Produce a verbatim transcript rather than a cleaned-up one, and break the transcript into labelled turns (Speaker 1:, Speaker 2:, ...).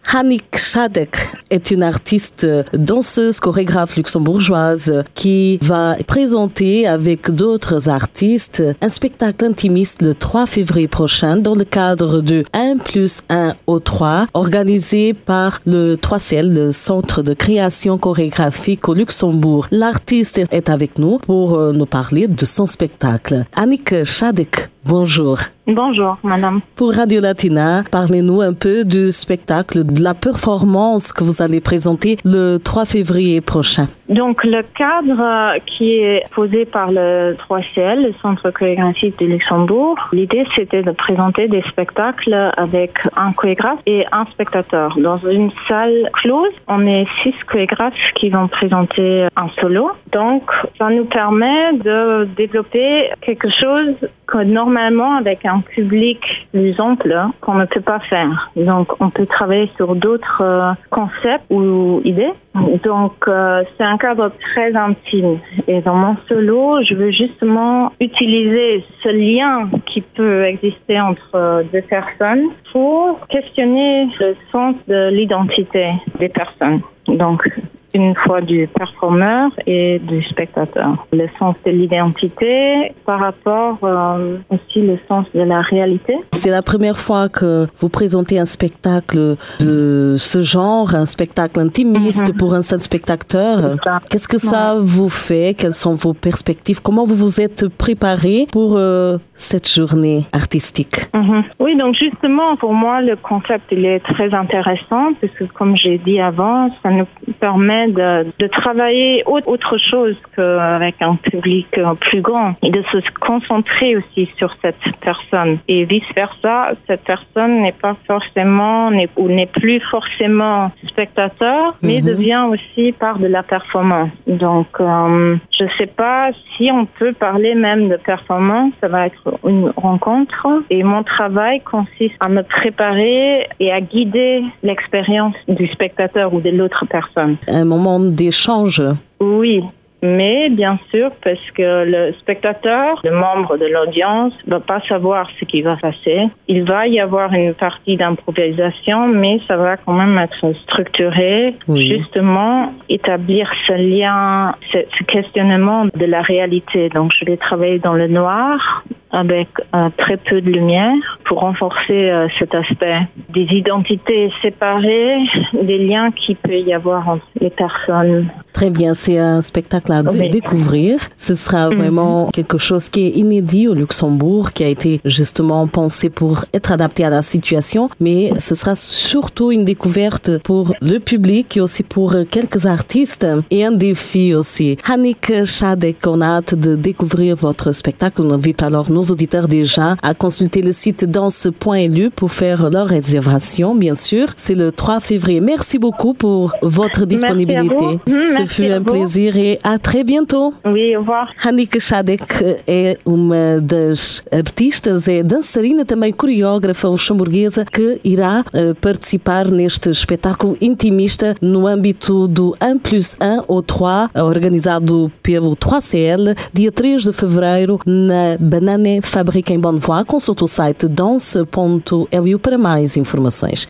Speaker 1: Annick Shadek est une artiste danseuse, chorégraphe luxembourgeoise qui va présenter avec d'autres artistes un spectacle intimiste le trois février prochain dans le cadre de un plus un au trois organisé par le trois C L, le Centre de création chorégraphique au Luxembourg. L'artiste est avec nous pour nous parler de son spectacle. Annick Shadek, bonjour.
Speaker 2: Bonjour, madame.
Speaker 1: Pour Radio Latina, parlez-nous un peu du spectacle, de la performance que vous allez présenter le trois février prochain.
Speaker 2: Donc, le cadre qui est posé par le trois C L, le Centre chorégraphique du Luxembourg, l'idée c'était de présenter des spectacles avec un chorégraphe et un spectateur. Dans une salle close, on est six chorégraphes qui vont présenter un solo. Donc, ça nous permet de développer quelque chose que normalement, avec un public plus ample, qu'on ne peut pas faire. Donc, on peut travailler sur d'autres euh, concepts ou idées. Donc, euh, c'est un cadre très intime. Et dans mon solo, je veux justement utiliser ce lien qui peut exister entre deux personnes pour questionner le sens de l'identité des personnes. Donc, une fois du performeur et du spectateur. Le sens de l'identité par rapport euh, aussi le sens de la réalité.
Speaker 1: C'est la première fois que vous présentez un spectacle de ce genre, un spectacle intimiste mm-hmm. pour un seul spectateur. Qu'est-ce que ça ouais. vous fait? Quelles sont vos perspectives? Comment vous vous êtes préparé pour euh, cette journée artistique?
Speaker 2: Mm-hmm. Oui, donc justement, pour moi, le concept il est très intéressant parce que comme j'ai dit avant, ça nous permet De, de travailler autre chose qu'avec un public plus grand et de se concentrer aussi sur cette personne. Et vice-versa, cette personne n'est pas forcément n'est, ou n'est plus forcément spectateur, mais mm-hmm. devient aussi part de la performance. Donc, euh, je ne sais pas si on peut parler même de performance, ça va être une rencontre. Et mon travail consiste à me préparer et à guider l'expérience du spectateur ou de l'autre personne.
Speaker 1: Un moment d'échange.
Speaker 2: Oui, mais bien sûr, parce que le spectateur, le membre de l'audience, ne va pas savoir ce qui va passer. Il va y avoir une partie d'improvisation, mais ça va quand même être structuré, oui. justement, établir ce lien, ce, ce questionnement de la réalité. Donc, je vais travailler dans le noir, avec euh, très peu de lumière pour renforcer euh, cet aspect des identités séparées, des liens qu'il peut y avoir entre les personnes.
Speaker 1: Très bien, c'est un spectacle à oui. découvrir. Ce sera vraiment mm-hmm. quelque chose qui est inédit au Luxembourg, qui a été justement pensé pour être adapté à la situation, mais ce sera surtout une découverte pour le public et aussi pour quelques artistes et un défi aussi. Annick Shadek, on a hâte de découvrir votre spectacle. On invite alors nos auditeurs déjà à consulter le site danse point l u pour faire leur réservation, bien sûr. C'est le trois février. Merci beaucoup pour votre disponibilité. Ce fut un plaisir et à très bientôt.
Speaker 2: Oui, au revoir.
Speaker 1: Annick Shadek é uma das artistas, é dançarina, também coreógrafa luxemburguesa, que irá uh, participar neste espetáculo intimista no âmbito do um plus um ou três, organizado pelo trois C L, dia três de fevereiro, na Banane Fabrique em Bonnevoie. Consulte o site danse ponto l u para mais informações.